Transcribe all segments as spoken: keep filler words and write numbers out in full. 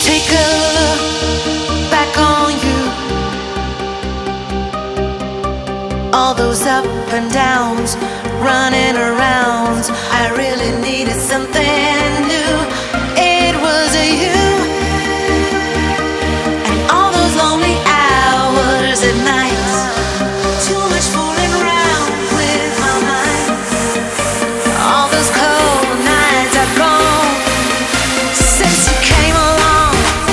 Take a look back on you. All those up and downs, running around. I really needed something new. It was you. And all those lonely hours at night. Too much fooling around with my mind. All those cold nights are gone since you came along.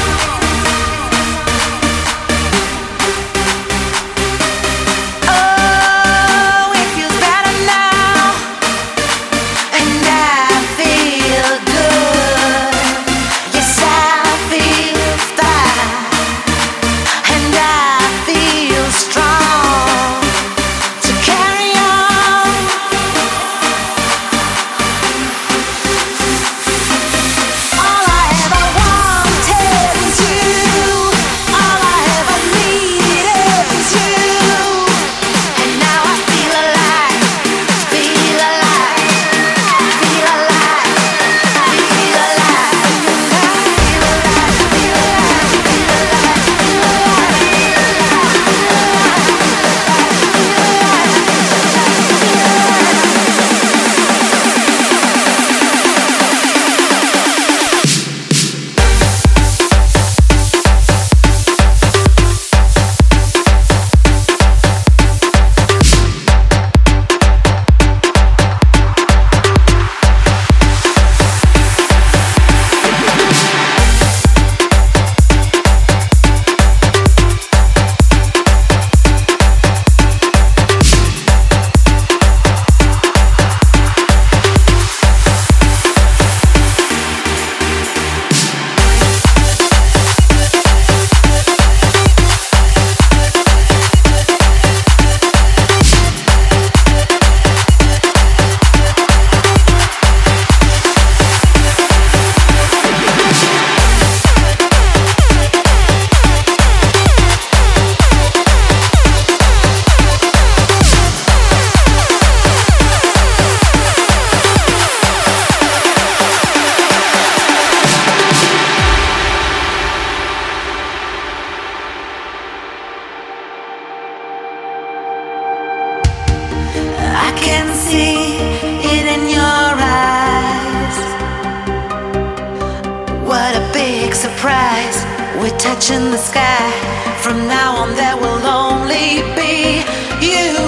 Oh, it feels better now, and I feel good. Yes, I feel fine, and I feel strong to carry on. All I ever wanted was you. All I ever needed was you. And now I feel alive, feel alive, feel alive, feel alive, feel alive, feel alive, I can see it in your eyes. What a big surprise. We're touching the sky. From now on, there will only be you.